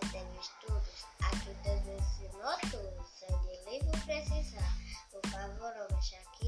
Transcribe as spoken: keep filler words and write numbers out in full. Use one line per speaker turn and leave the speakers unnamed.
teve estudos, ajuda do ensino noturno, sem de livro precisar. Por favor, não mexa aqui.